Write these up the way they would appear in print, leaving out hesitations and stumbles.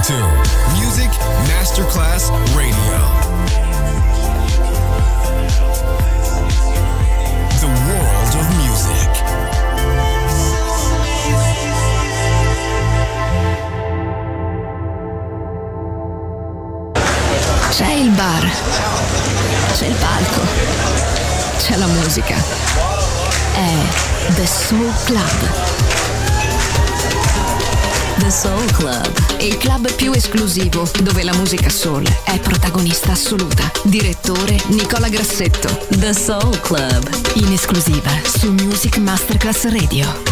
to Music Masterclass Radio. The world of music. C'è il bar, c'è il palco, c'è la musica. È The Soul Club. The Soul Club, il club più esclusivo dove la musica soul è protagonista assoluta. Direttore Nicola Grassetto. The Soul Club, in esclusiva su Music Masterclass Radio.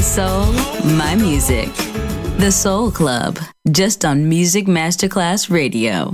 soul, my music. The Soul Club, just on Music Masterclass Radio.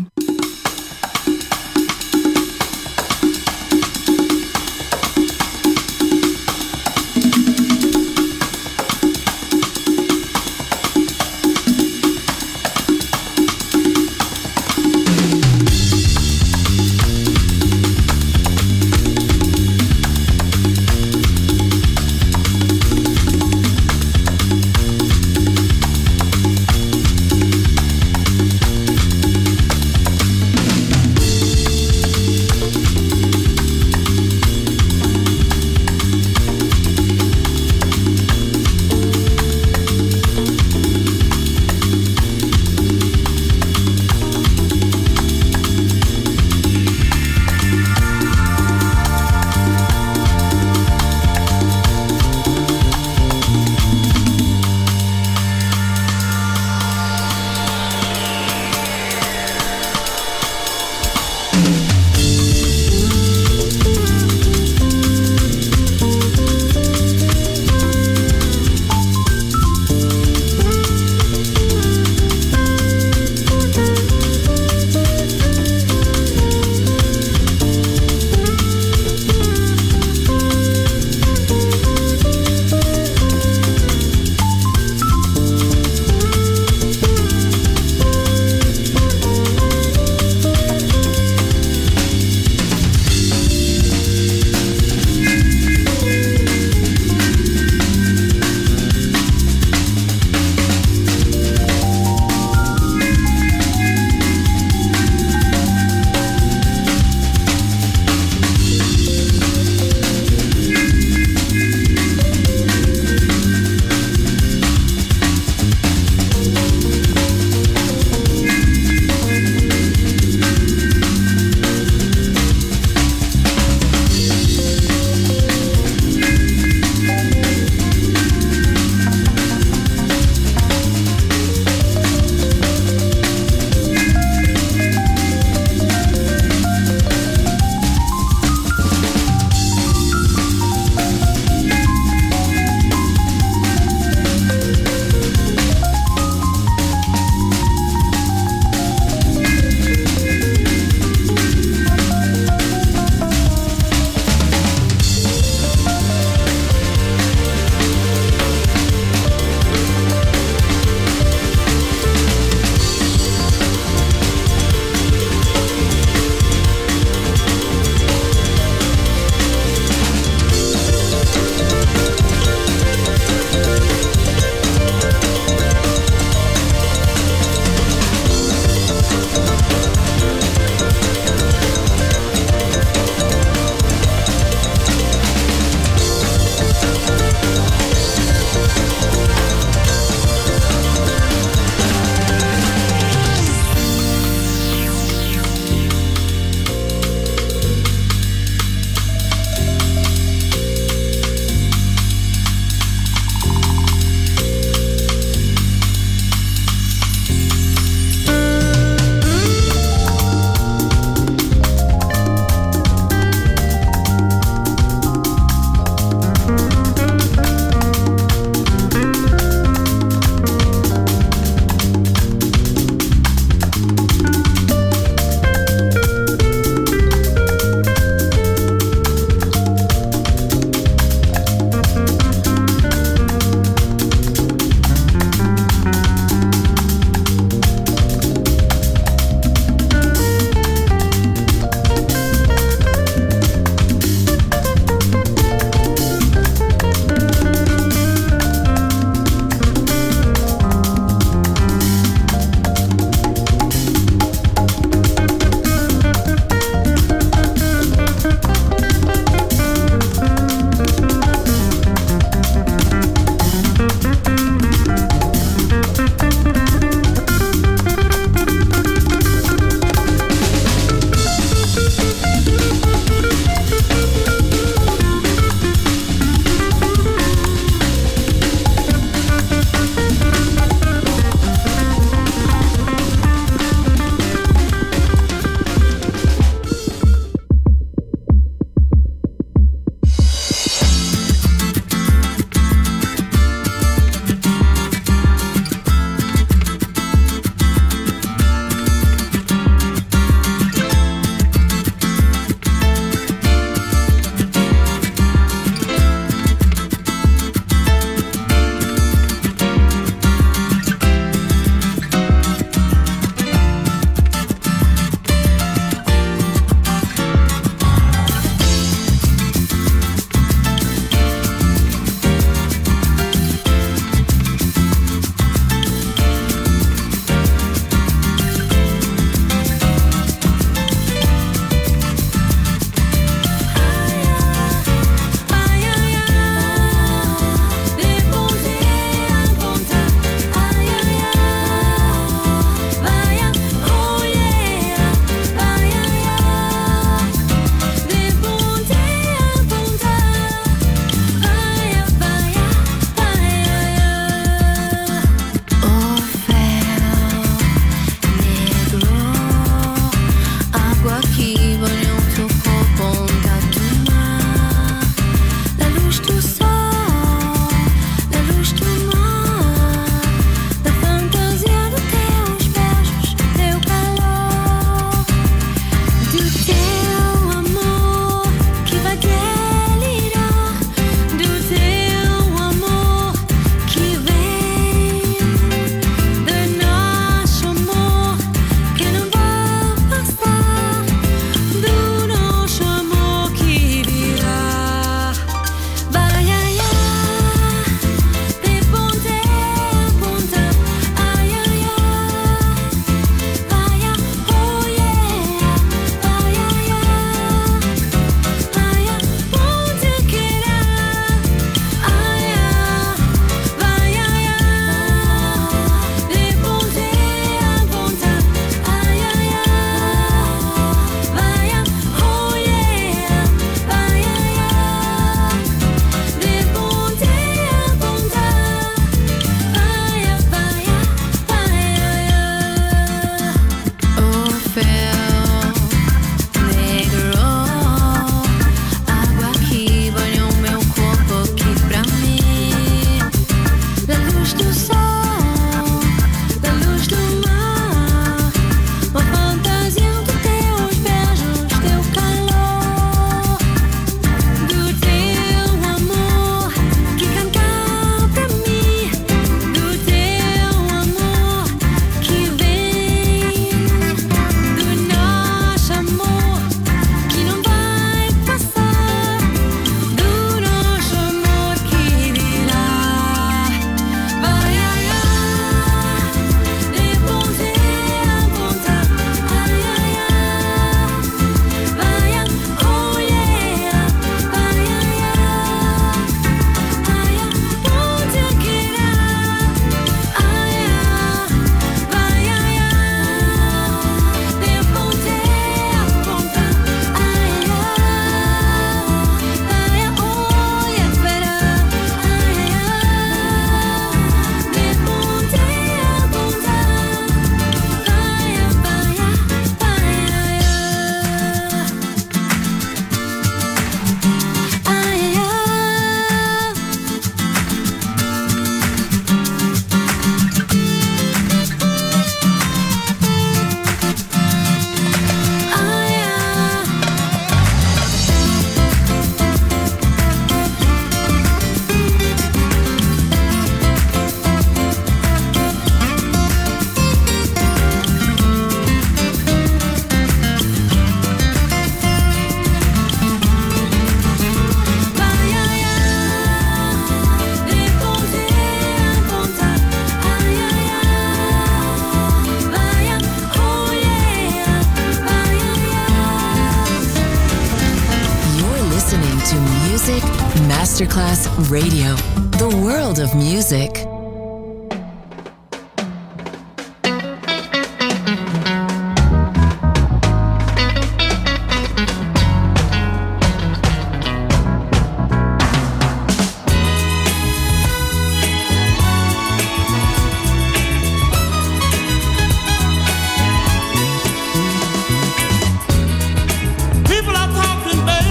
Masterclass Radio, the world of music.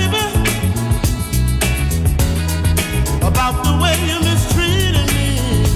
About the way you mistreated me.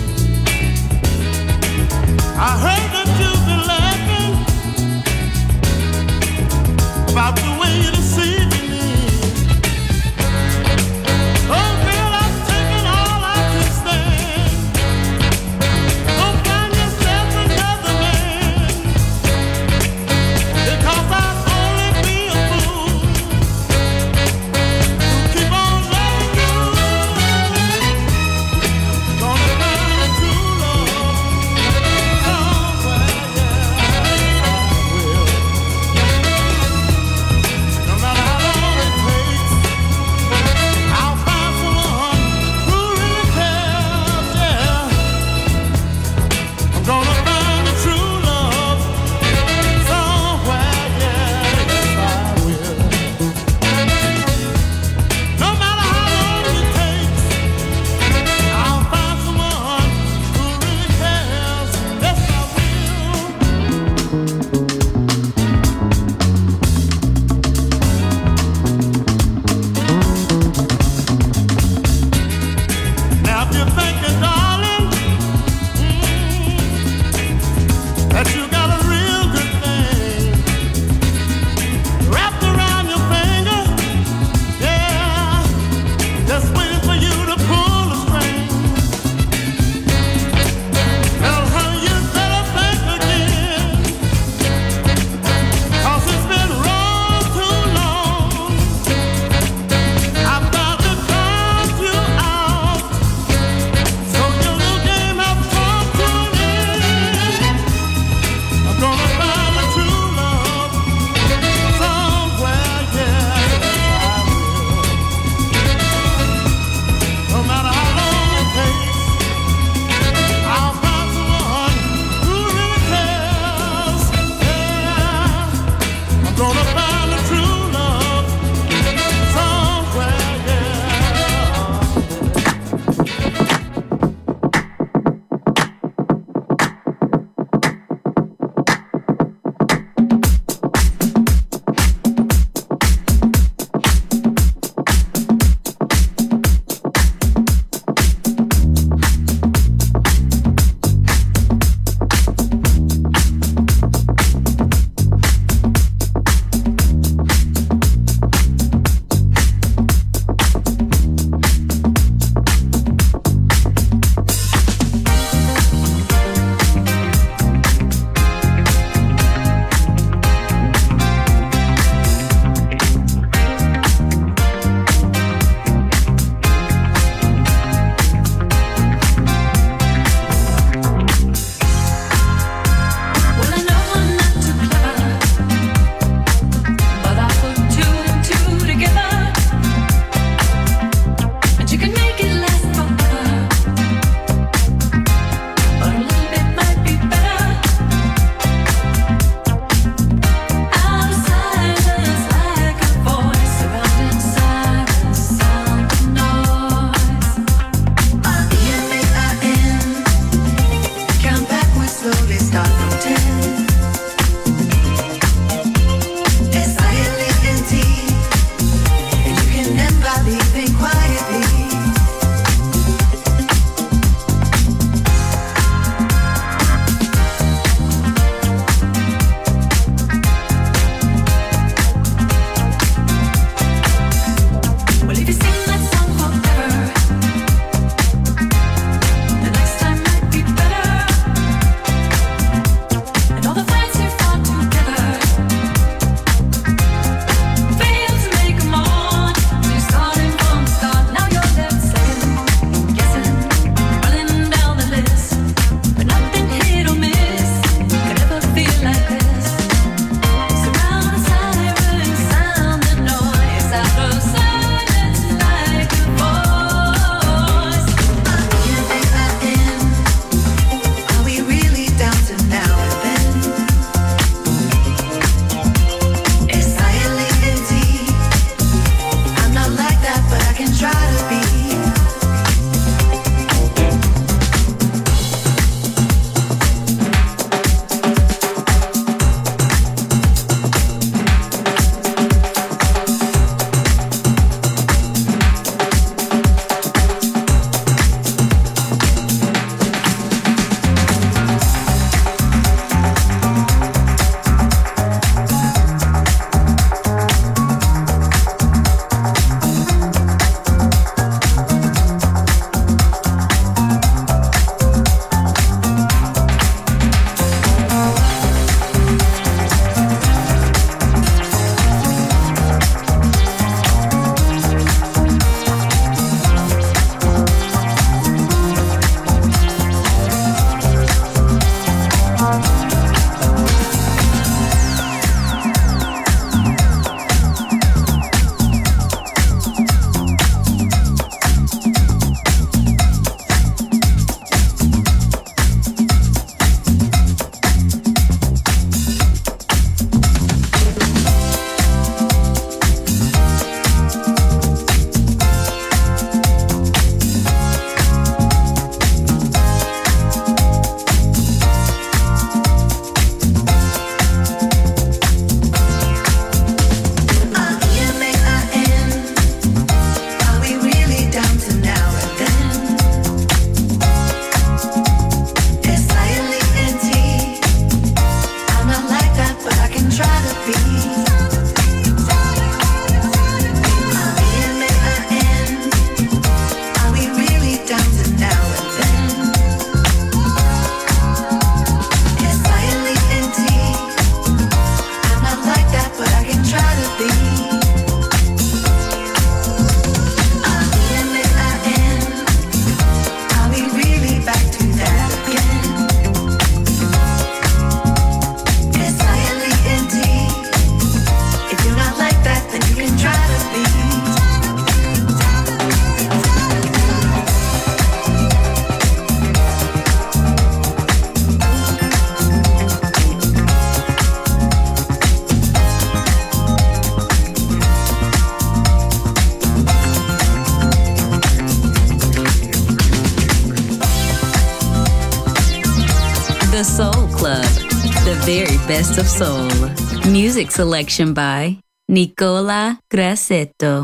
The Soul Club, the very best of soul. Music selection by Nicola Grassetto.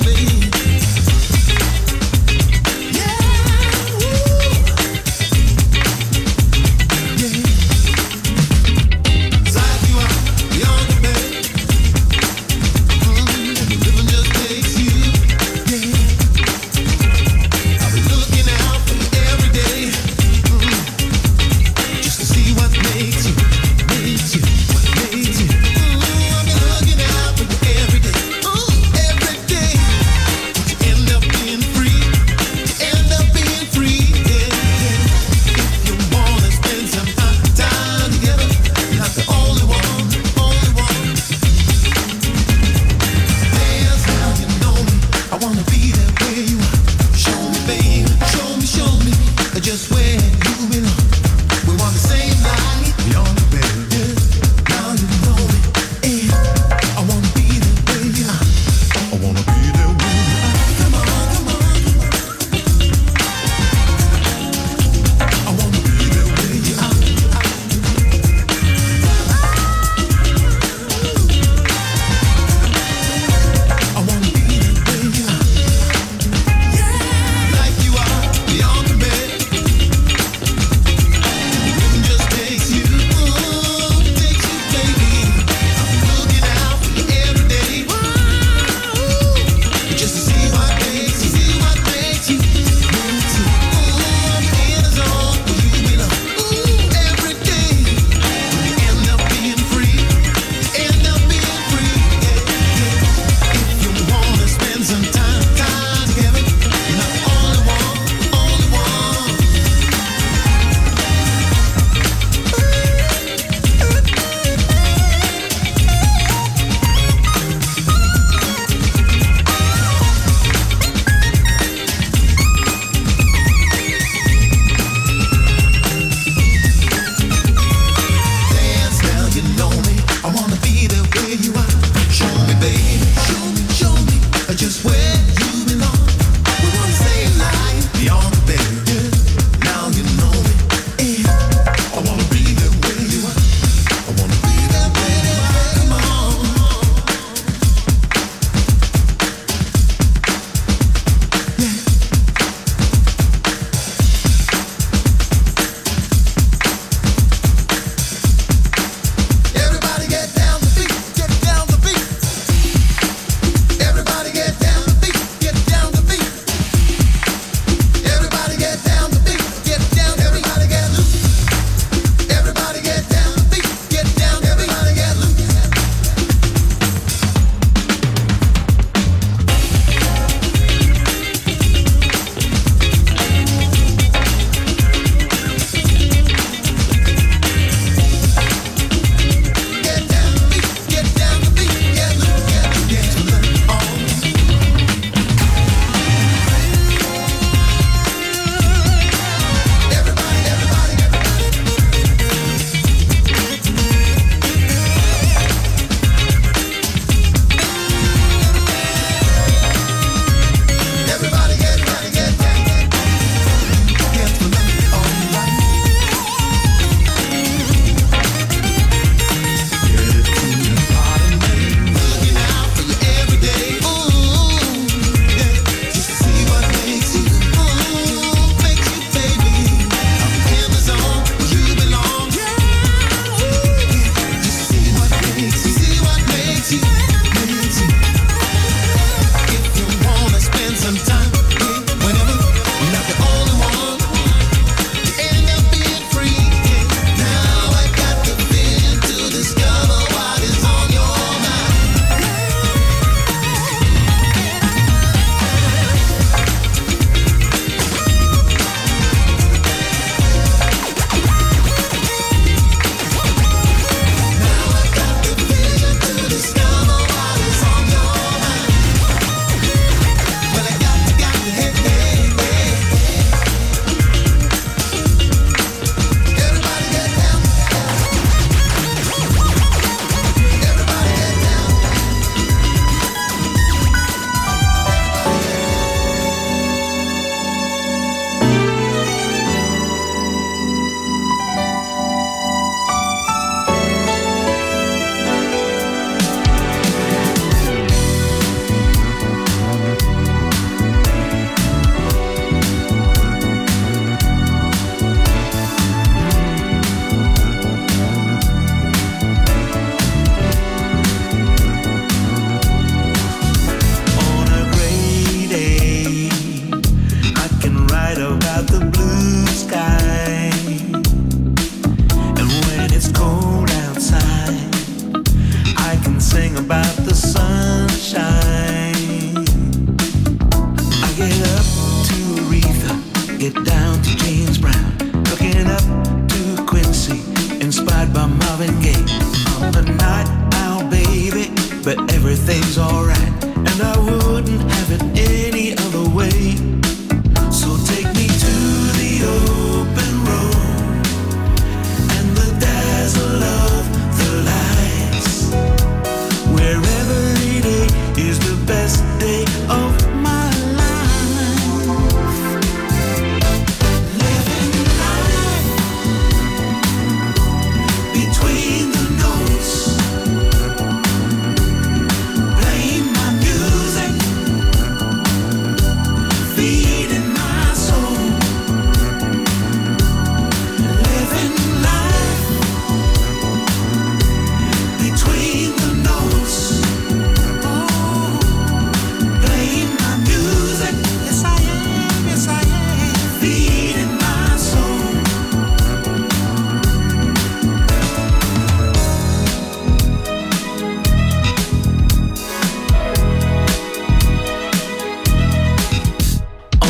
Yeah, ooh.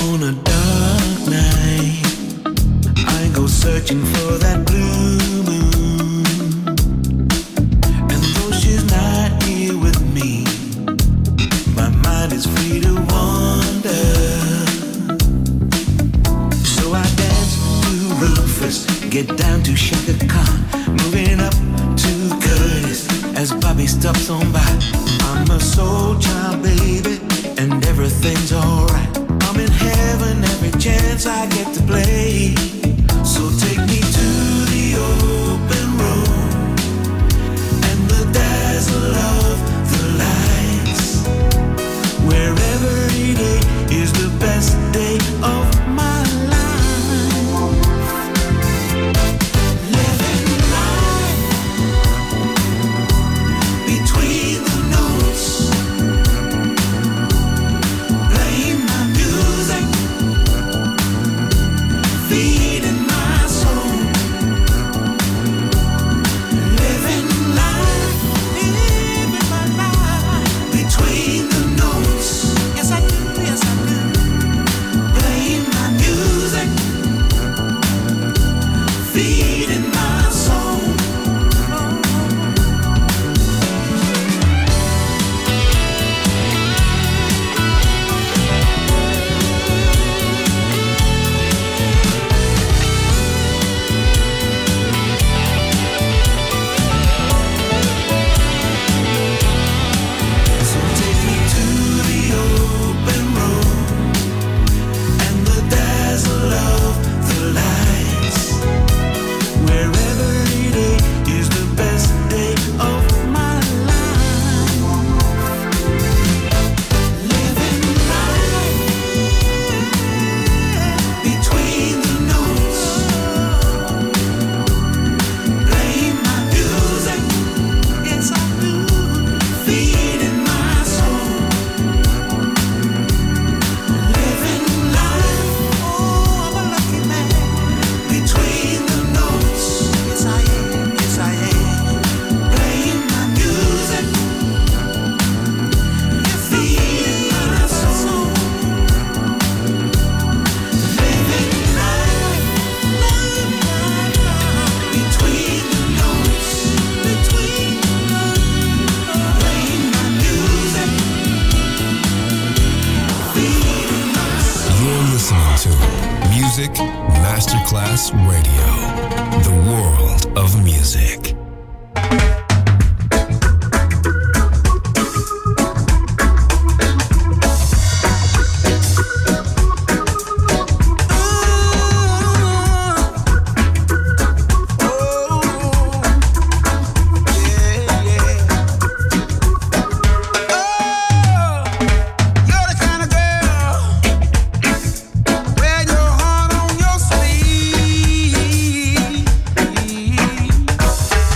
On a dark night, I go searching for that blue moon. And though she's not here with me, my mind is free to wander. So I dance to Rufus, get down to Shaka Khan, moving up to Curtis as Bobby stops on by. I'm a soul child, baby, and everything's alright. I'm in heaven every chance I get to play. So take me to the open road and the dazzle of the lights, where every day is the best day of my life. Living life between the notes, playing my music, feeding my soul. Living life between the notes. Yes I do, yes I do. Playing my music, feeding my soul. So take me to the open road and the dazzle of the lights, where every day is the best day of my life. Living life between the notes, playing my music, yes I do, feeding my soul. Living life, oh I'm a lucky man, between the notes, yes I am, yes I am. Playing my music, feeding my soul. Living life between the notes, playing my music, feeding my soul. You're listening to Music Masterclass Radio, the world of music. You're the kind of girl, wear your heart on your sleeve.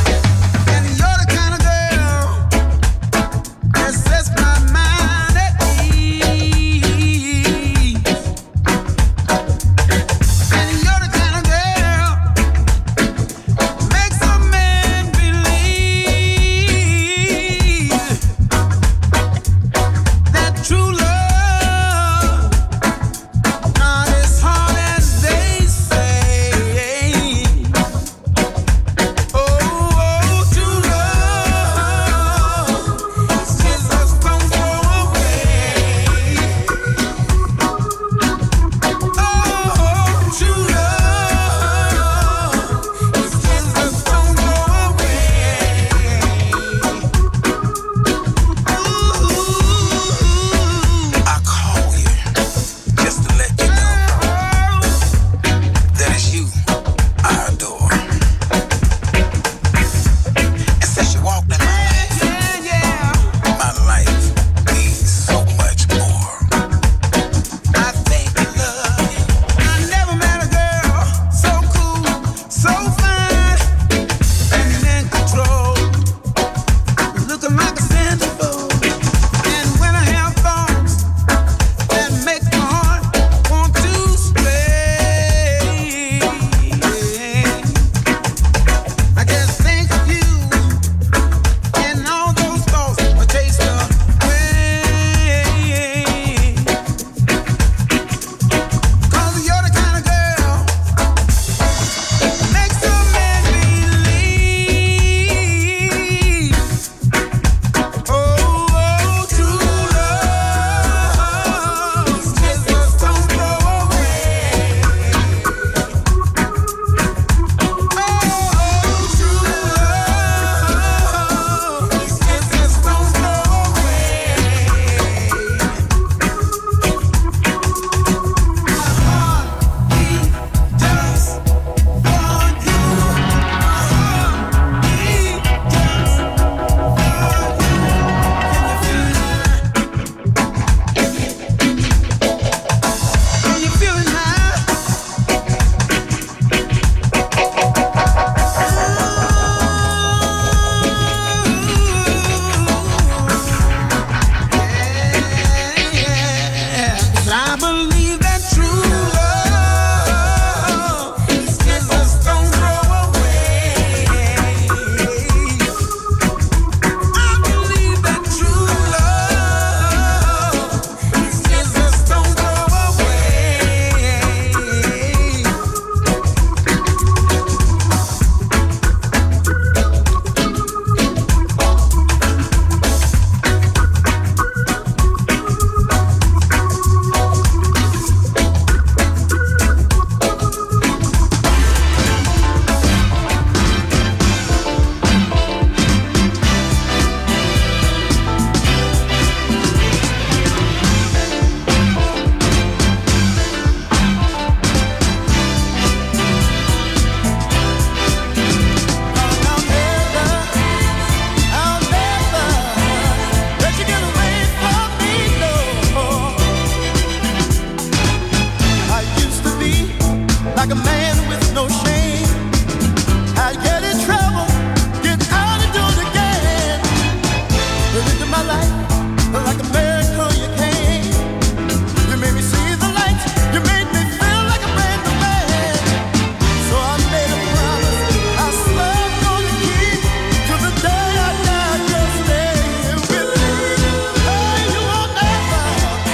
like a man with no shame. I get in trouble, get out and do it again. Look into my life like a miracle you came. You made me see the light, you made me feel like a brand new man. So I made a promise I swear I'm gonna keep till the day I die. Just stay with me. Hey, you won't never,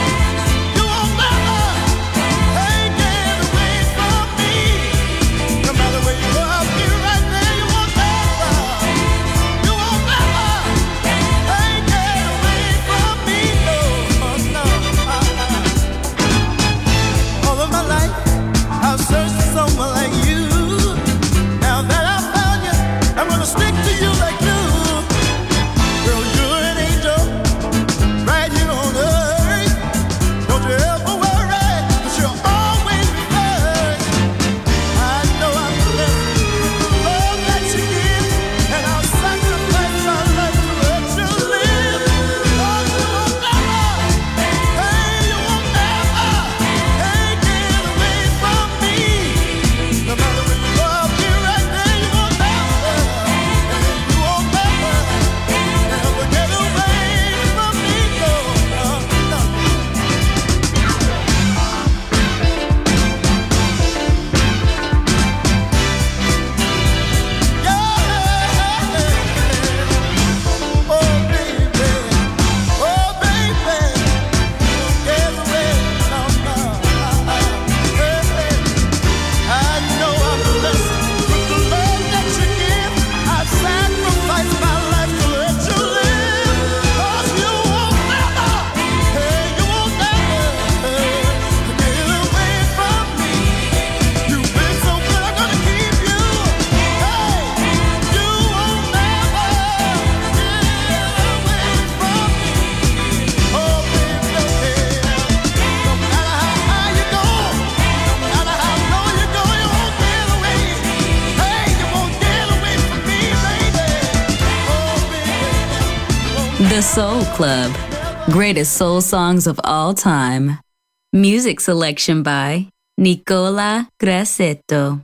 hey, get away from me. No matter where you go, I'll be right there. You won't never, hey, get away from me. No, all of my life I've searched for someone like you. Now that I found you, I'm gonna stick to you like glue. Girl, you're an angel right here on earth. Don't you ever worry, 'cause you'll always be first. I know I'm blessed with the love that you give, and I'll sacrifice my life to let you live. Oh, you won't never, hey, you won't never, hey, get away from me. No matter where you go, I'll be right there. You won't never, hey, you won't never, never get away from me. No, no, no. The Soul Club. Greatest soul songs of all time. Music selection by Nicola Grassetto.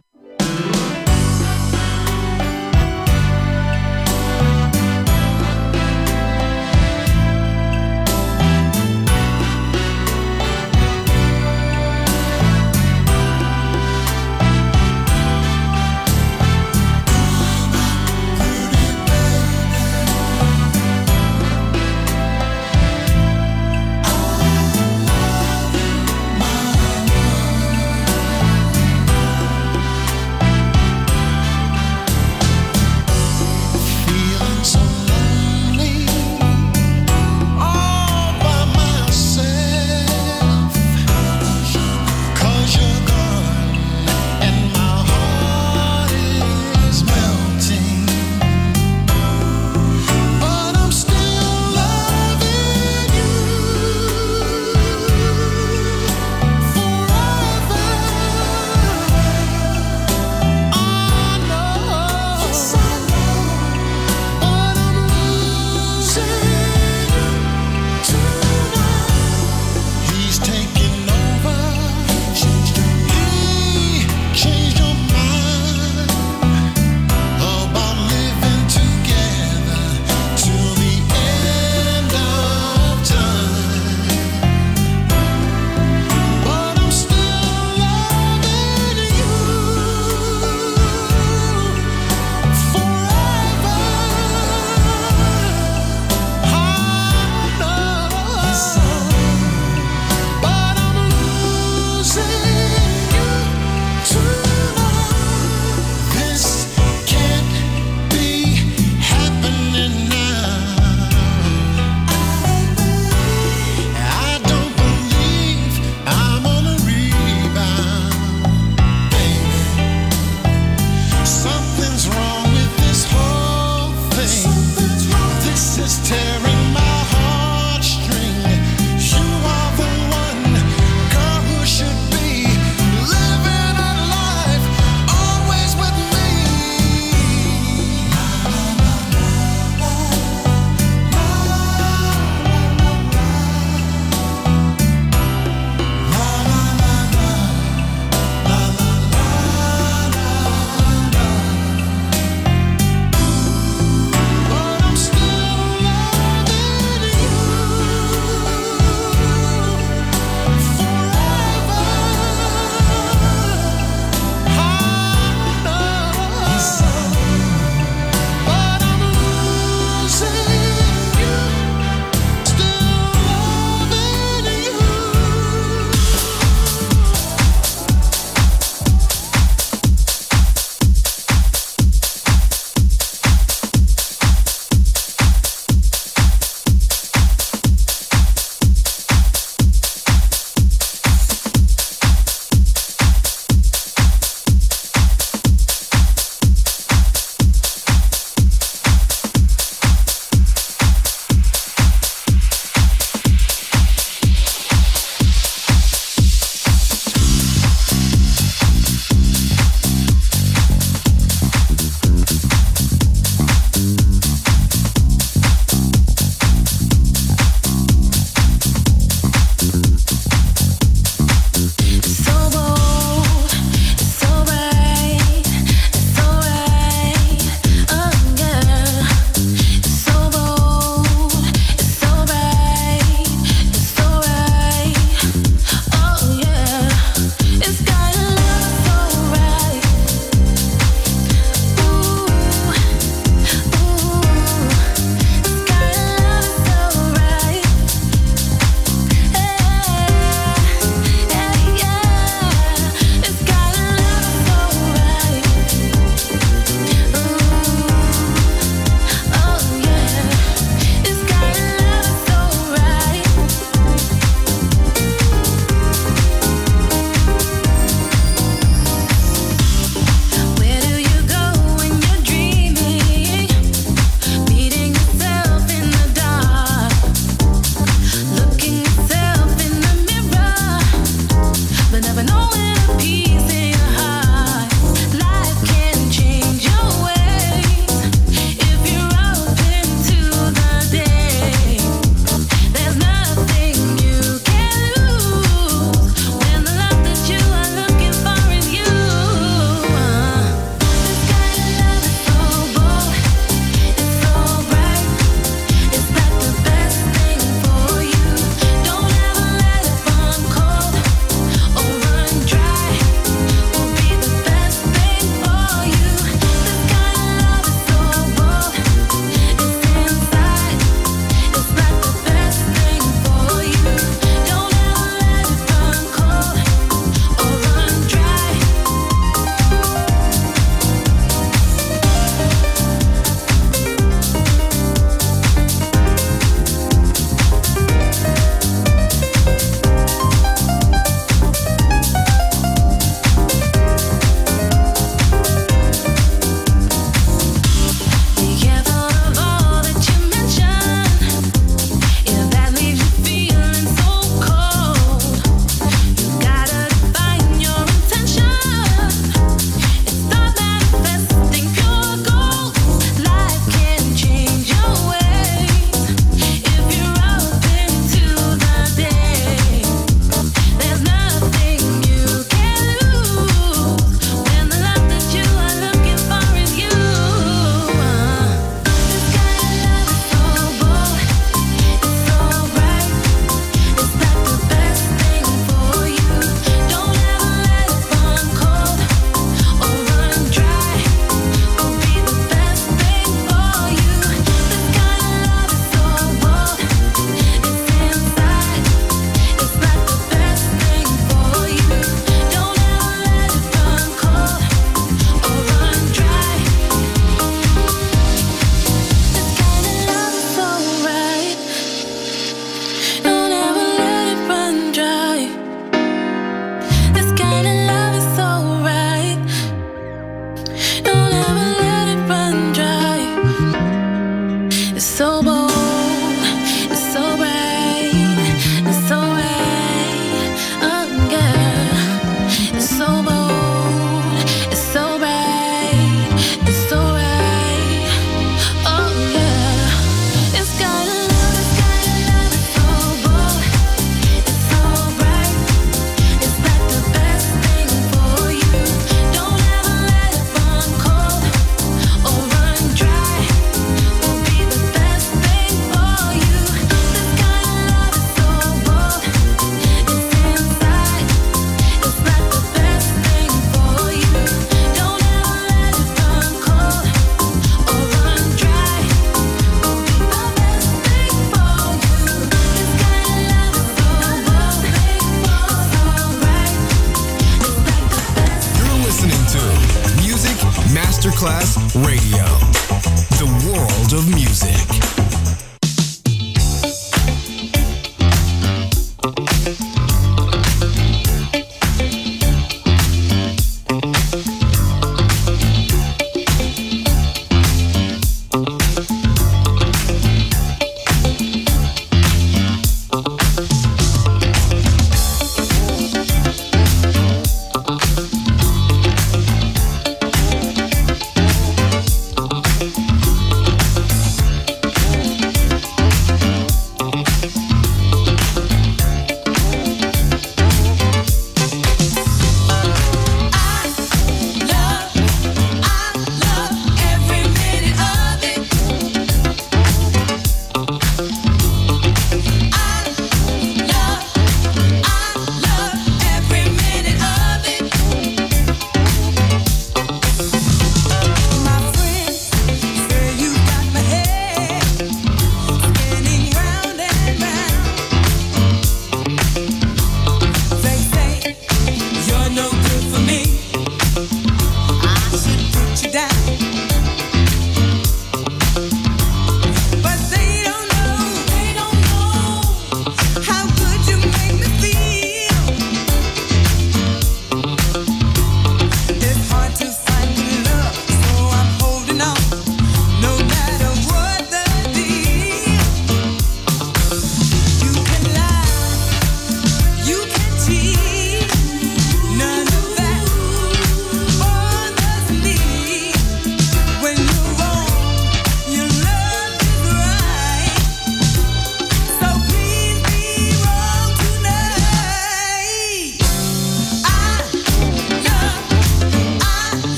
Masterclass Radio, the world of music.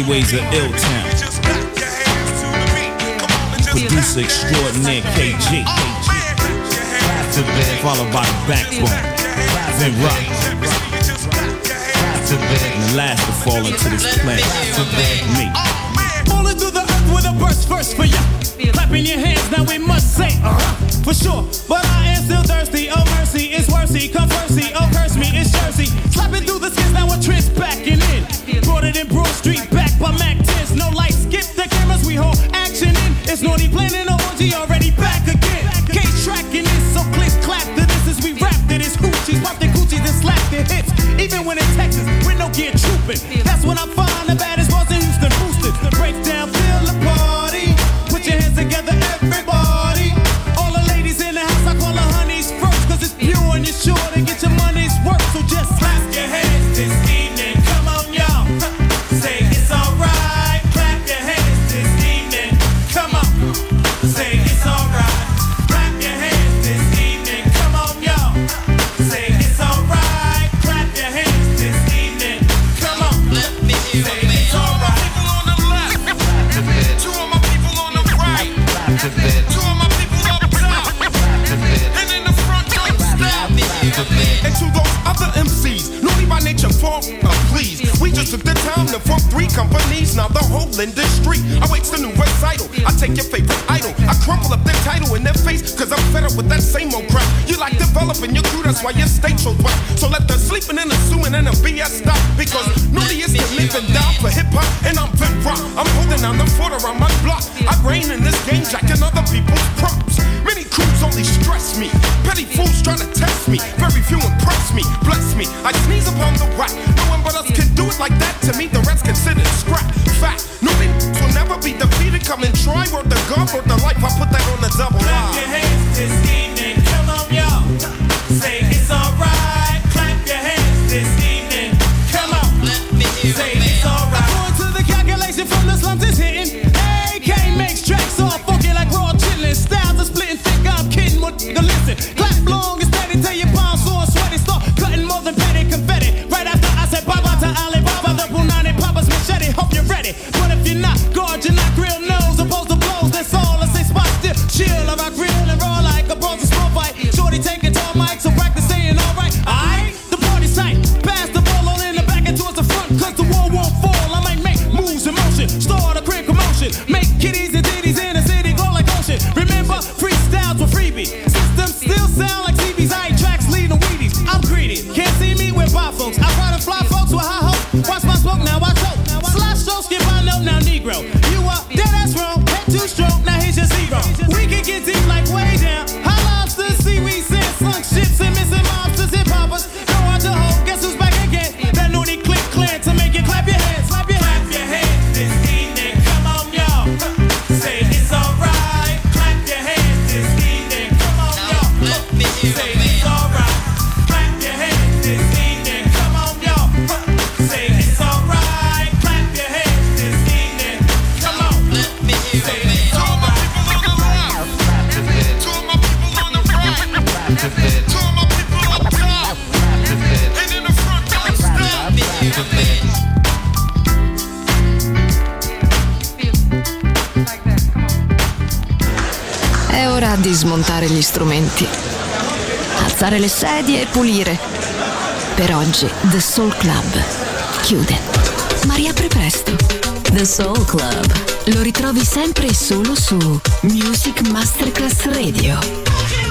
Highways of Ill-Town. Producer extraordinaire KG. Followed by the Backbone. Then Rock. And the last to fall into this planet. Me. Falling through the earth with a burst first for ya. Clapping your hands, now we must say, for sure. But I am still thirsty. Oh mercy, it's worthy. Come mercy, oh curse me, it's Jersey. Slapping through the skins, now a trench backing in. Brought it in Broad Street, back by Mac 10s. No lights, skip the cameras, we hold action in. It's naughty planning an orgy, already back again. Cage tracking this, so click clap to this as we rap to this. Hoochies, pop the coochies and slap the hits. Even when it's Texas, with no gear trooping. That's when I find the baddest bars in Houston boosted. Break down, feel the party. Put your hands together, everybody. All the ladies in the house, I call the honeys first. Cause it's pure and you're sure to get your money's worth. So just clap your hands this evening. Come on, y'all. Say it's alright. Clap your hands this evening. Come on. Say it's alright. Clap your hands this evening. Come on, y'all. Say it's alright. Clap your hands this evening. Come on. Say it's alright. Two of my people on the right. Two of my people up top. And in the front, don't stop. And to those other MCs, naughty by nature, please. We just took the time to form 3 companies. Now the whole industry awaits the new recital. I take your favorite idol, I crumple up their title in their face, cause I'm fed up with that same old crap. You like developing your crew, that's why your state so wet. So let the sleeping and assuming and the BS stop. Because naughty is to live and die for hip hop, and I'm Vin Rock. I'm holding down the fort around my block. I reign in this game, jacking other people's props. Many crews only stress me. Petty fools trying to test me. Very few impress me, bless me. I sneeze upon the whack. No one but us can do it like that. To me, the rest considered scrap. Fact, nobody will never be defeated. Come and try, word the God, word the life. I put that on the double line. Clap your hands this evening. Come on, y'all. Say it's alright. Clap your hands this evening. Come on. Say it's alright. According to the calculation from the slums, it's hitting. AK makes tracks all funky like raw chillin'. Styles are splitting thick. I'm kidding. What the listen? Clap long and steady till your palms sore and sweaty. Start cutting more than petty confetti. Right after I said bye bye to Alibaba, the Punani Papa's machete. Hope you're ready. But if you're not, guard your not grill nose. Opposed to blows, that's all. I say spot still. Chill, I rock real and raw like a bronze small fight. Shorty taking tall mics, so practice saying alright. Alright, the party's tight. Pass the ball all in the back and towards the front. Cause the wall won't fall. I might make moves in motion. Start a quick commotion. Make kitties and ditties in the city go like ocean. Remember, freestyles were freebie. Systems still sound like TVs. I ain't tracks leading Wheaties. I'm greedy. Can't see me with by folks. I ride and fly folks with high hopes. Watch my smoke, now I choke. Slash stroke, skip I know now Negro. You up, dead ass wrong. Head too strong, now here's your zero. We can get deep like way down. High lobsters, seaweed, sand, slunk ships, and missing mobsters, hip hoppers. No hard to hold, guess who's back again? That naughty click clan to make you clap your hands. Clap your hands this evening. Come on, y'all. Say it's alright. Clap your hands this evening. Come on, y'all. Say it's alright. Clap your hands this evening. Come on, y'all. Say it's alright. Clap your hands this evening. Come on. Say it's alright. Two of my people on the right. Two of my people up top. And in the front, don't stop. È ora di smontare gli strumenti, alzare le sedie e pulire. Per oggi The Soul Club chiude, ma riapre presto. The Soul Club lo ritrovi sempre e solo su Music Masterclass Radio.